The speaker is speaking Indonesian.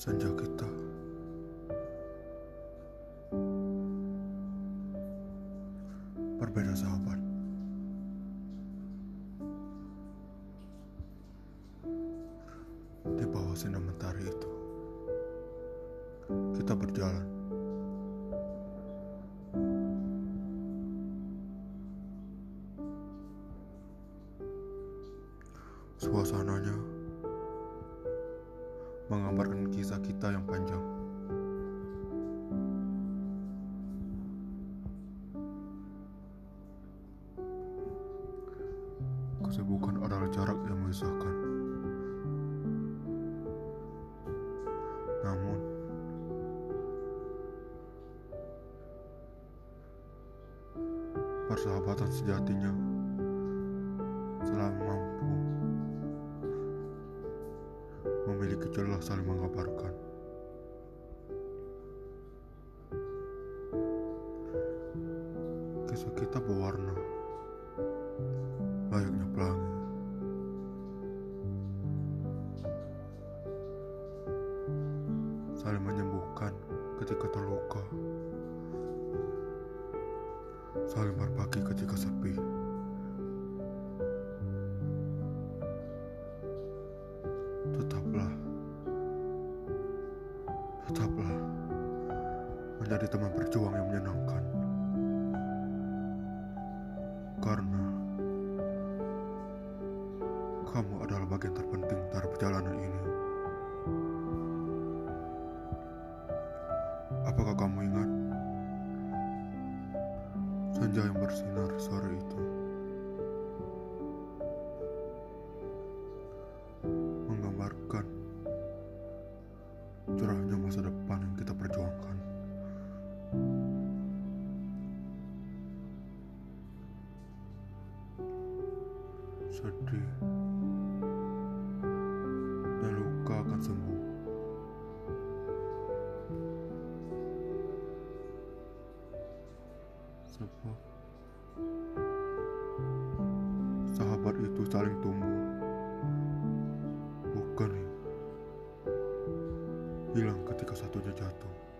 Senja kita berbeda, sahabat. Di bawah sinar mentari itu, kita berjalan. Suasananya menggambarkan kisah kita yang panjang. Kesibukan adalah jarak yang memisahkan. Namun, persahabatan sejatinya selalu mampu memiliki celah saling mengabarkan. Kisah kita berwarna layaknya pelangi. Saling menyembuhkan ketika terluka, saling berbagi ketika sepi. Tetaplah menjadi teman berjuang yang menyenangkan, karena kamu adalah bagian terpenting dari perjalanan ini. Apakah kamu ingat senja yang bersinar sore itu menggambarkan cerahnya masa depan yang kita perjuangkan? Sedih dan luka akan sembuh. Sebab sahabat itu saling tumbuh, bukan hilang ketika satunya jatuh.